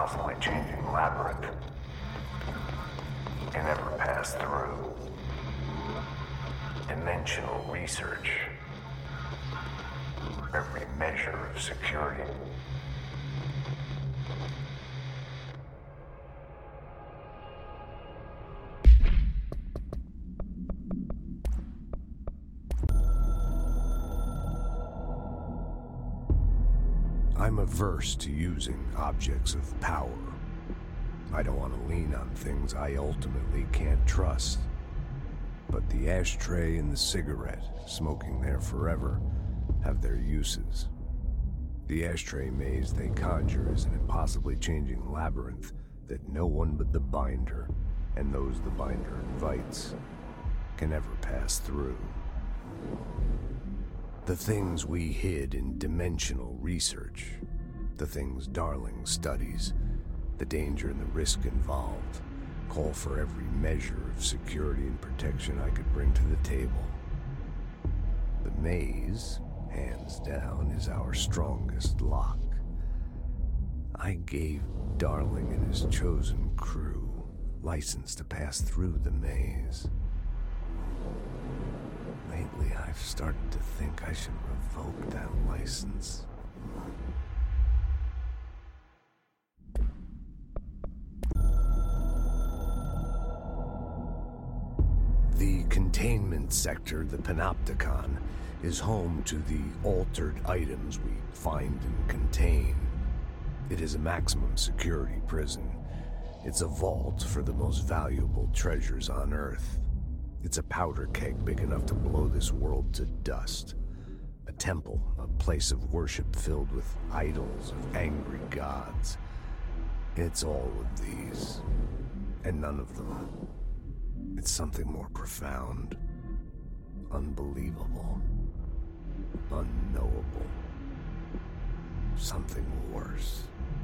constantly changing labyrinth can never pass through. Dimensional research. Every measure of security. I'm averse to using objects of power. I don't want to lean on things I ultimately can't trust. But the ashtray and the cigarette, smoking there forever, have their uses. The ashtray maze they conjure is an impossibly changing labyrinth that no one but the binder, and those the binder invites, can ever pass through. The things we hid in dimensional research, the things Darling studies, the danger and the risk involved, call for every measure of security and protection I could bring to the table. The maze, hands down, is our strongest lock. I gave Darling and his chosen crew license to pass through the maze. Lately, I've started to think I should revoke that license. The containment sector, the Panopticon, is home to the altered items we find and contain. It is a maximum security prison. It's a vault for the most valuable treasures on Earth. It's a powder keg big enough to blow this world to dust. A temple, a place of worship filled with idols of angry gods. It's all of these, and none of them. It's something more profound, unbelievable, unknowable. Something worse.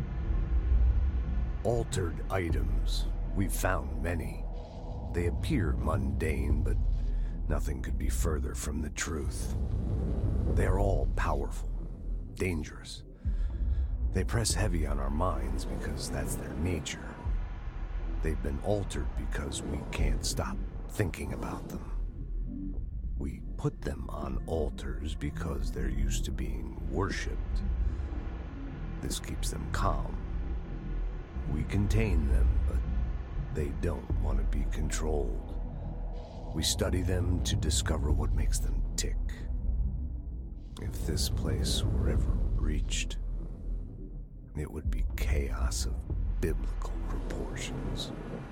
Altered items. We've found many. They appear mundane, but nothing could be further from the truth. They're all powerful, dangerous. They press heavy on our minds because that's their nature. They've been altered because we can't stop thinking about them. We put them on altars because they're used to being worshipped. This keeps them calm. We contain them, but they don't want to be controlled. We study them to discover what makes them tick. If this place were ever breached, it would be chaos of biblical proportions.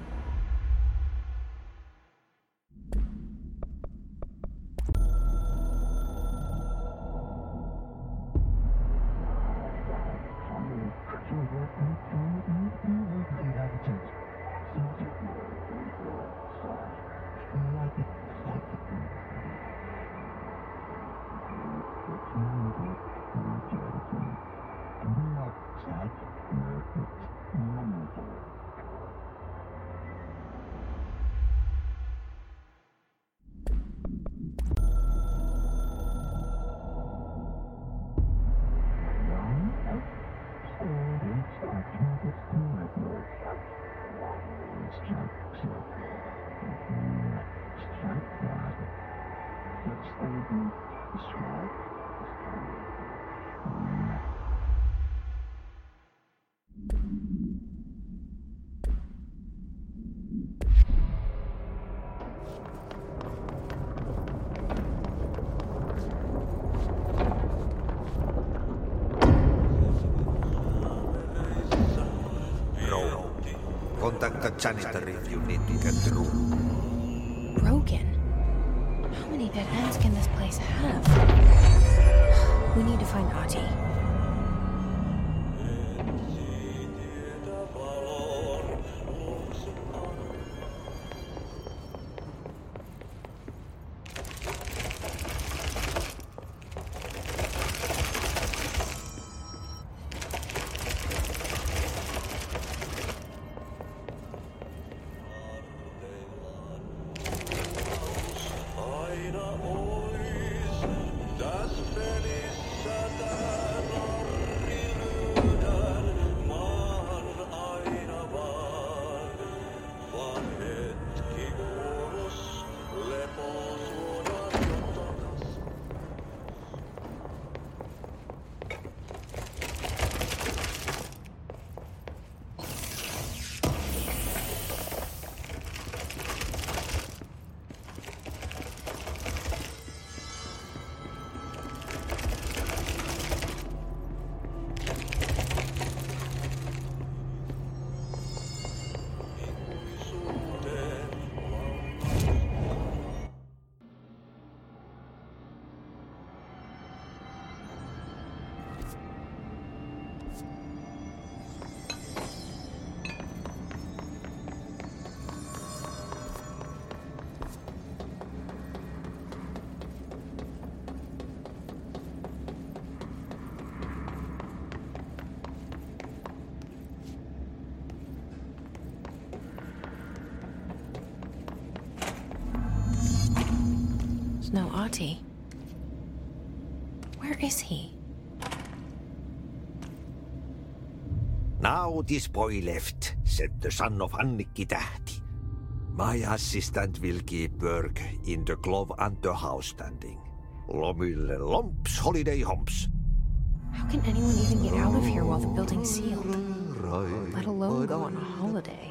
Contact the janitor if you need to get through. Broken? How many dead ends can this place have? We need to find Ahti. Das Feliz Satan. There's no Ahti. Where is he? Now this boy left, said the son of Annikki Tähti. My assistant will keep work in the glove and the house standing. Lomille lomps, holiday humps. How can anyone even get out of here while the building's sealed? Let alone go on a holiday.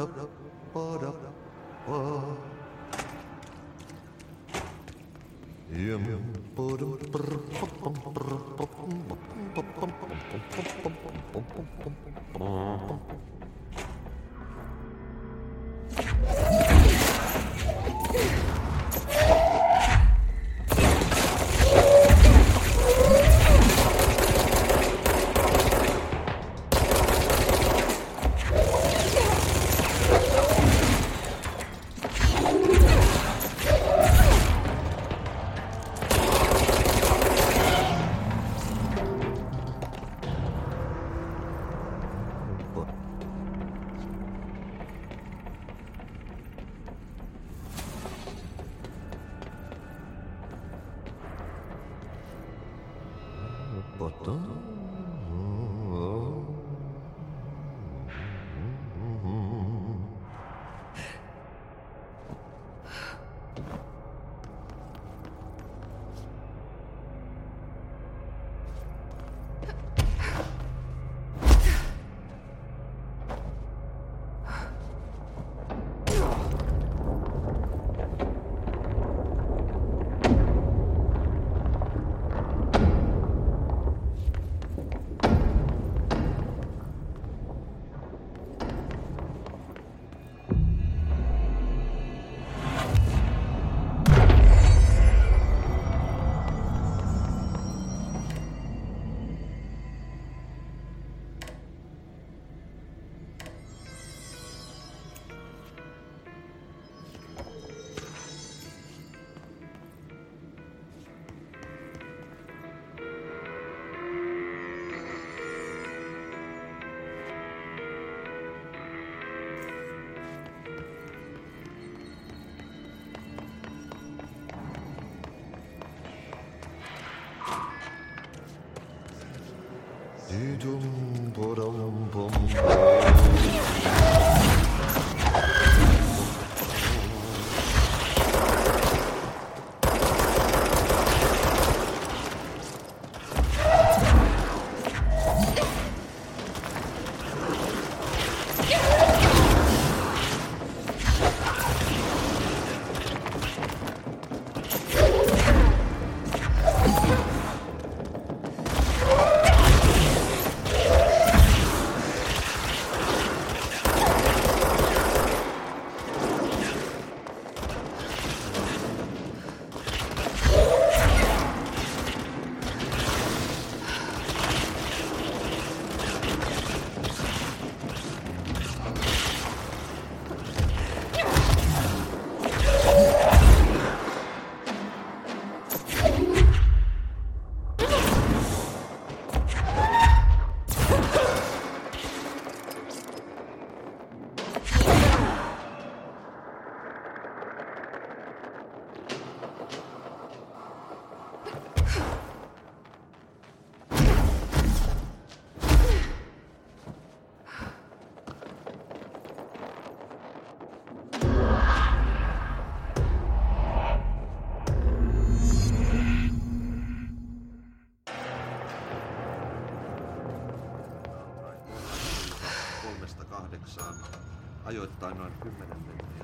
Ajoittain noin 10 metriä.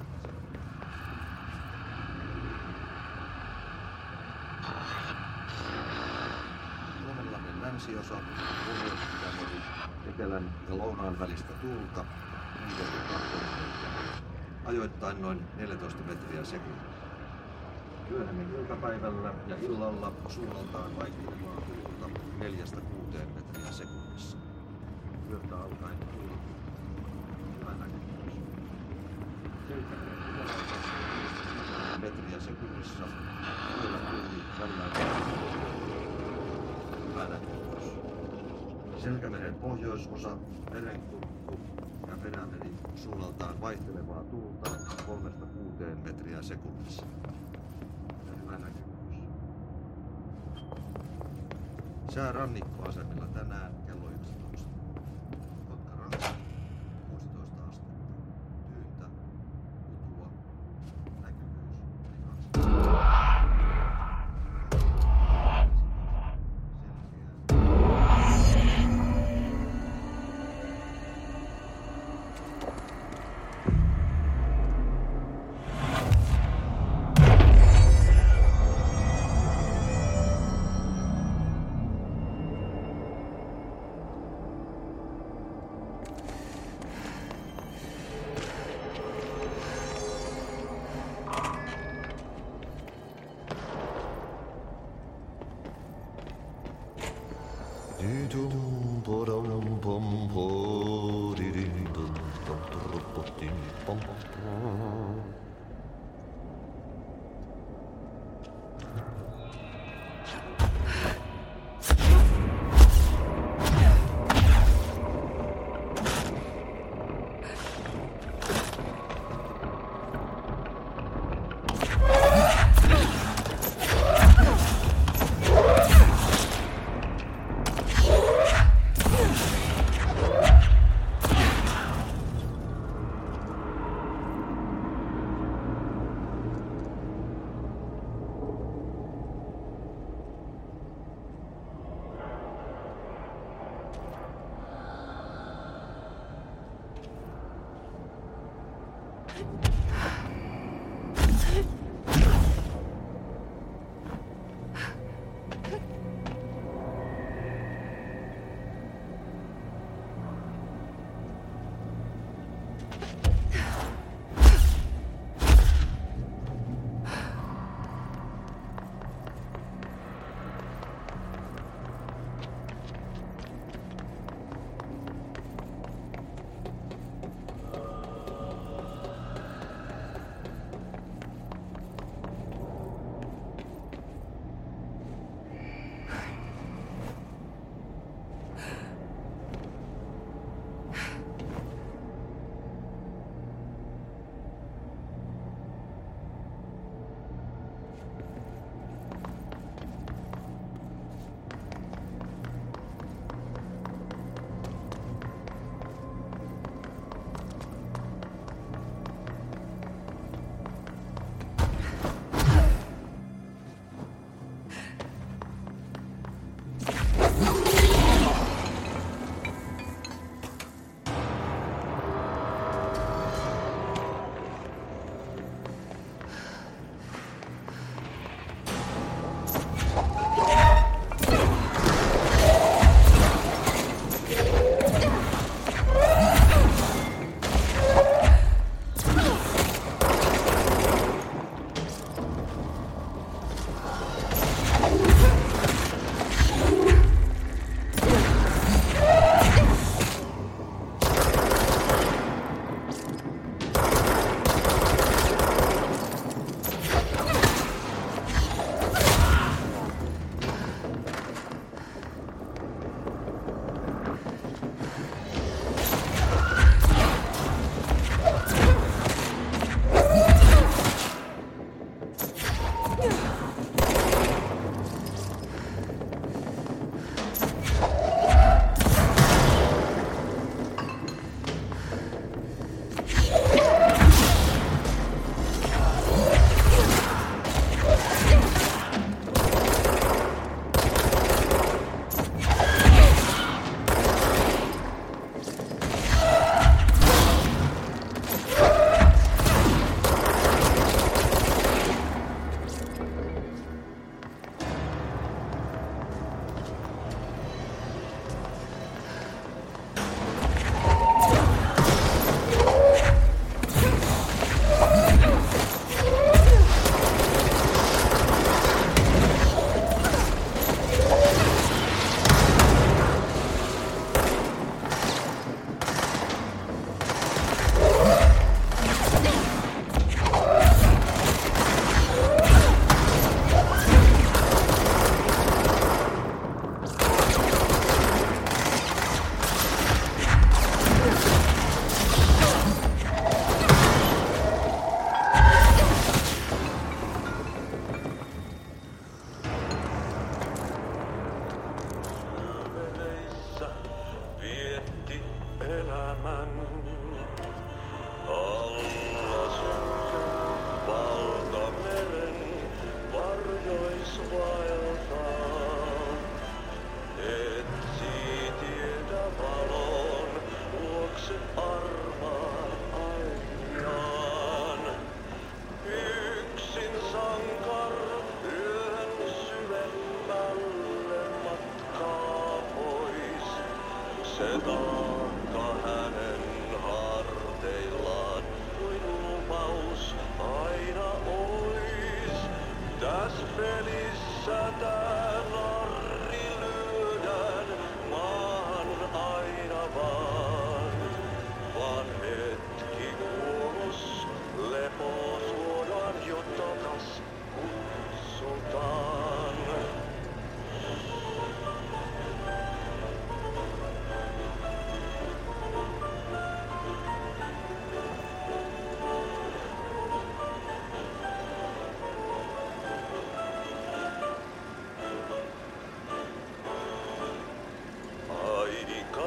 Suomenlahden länsiosa, Pohjois-Itämeri, etelän ja lounaan välistä tuulta, ajoittain noin 14 metriä sekunnissa. Myöhemmin iltapäivällä ja illalla suunnaltaan vaihtelevaa tuulta 4-6 metriä sekunnissa. Yöltä alkaen tuuli. Hyvä näkemys. Metriä sekunnissa. Yöllä tuuli välillä. Hyvä näkemys. Selkämeren pohjoisosa, merenkurkku ja Perämeri suunnaltaan vaihtelevaa tuulta 3-6 metriä sekunnissa. Hyvä näkemys. Sää rannikkoasemilla tänään kello 11. Kotkaranta 16 astetta. Tyyntä, utua, näkyvyys yli 2.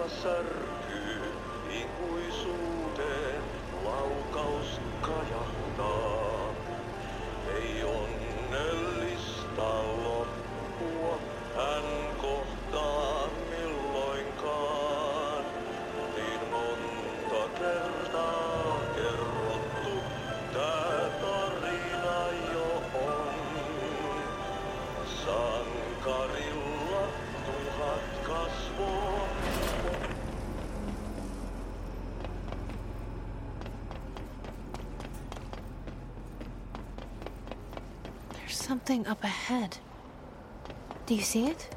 särkyy, ikuisuuteen laukaus kajahtaa. Ei onnellista loppua hän kohtaa milloinkaan. Niin monta kertaa kerrottu tää tarina jo on. Sankarilla 1000 kasvoa. There's something up ahead. Do you see it?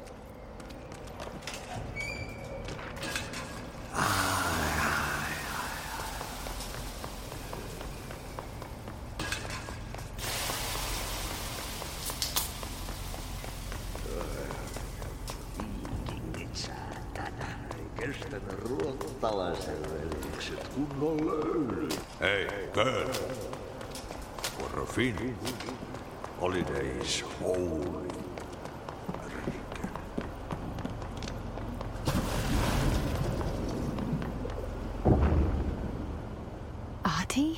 Viikingit saatana. Ei kestänyt ruottalaisen veljekset kunnon löyly. Hey, girl. For a Finn. Holidays holy. Ahti?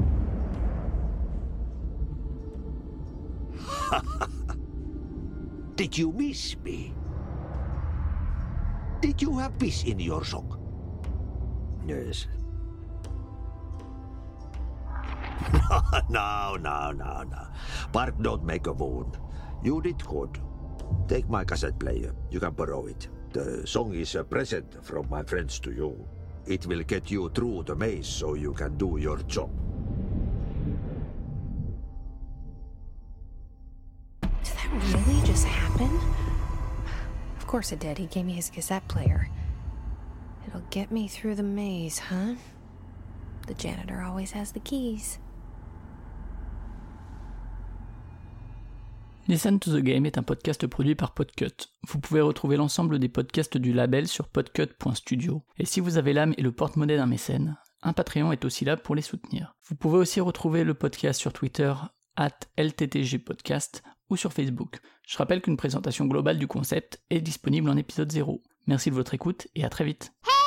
Did you miss me? Did you have peace in your song? Yes. No. Bark don't make a wound. You did good. Take my cassette player. You can borrow it. The song is a present from my friends to you. It will get you through the maze so you can do your job. Did that really just happen? Of course it did. He gave me his cassette player. It'll get me through the maze, huh? The janitor always has the keys. Listen to the Game est un podcast produit par Podcut. Vous pouvez retrouver l'ensemble des podcasts du label sur podcut.studio. Et si vous avez l'âme et le porte-monnaie d'un mécène, un Patreon est aussi là pour les soutenir. Vous pouvez aussi retrouver le podcast sur Twitter @LTTGpodcast ou sur Facebook. Je rappelle qu'une présentation globale du concept est disponible en épisode 0. Merci de votre écoute et à très vite.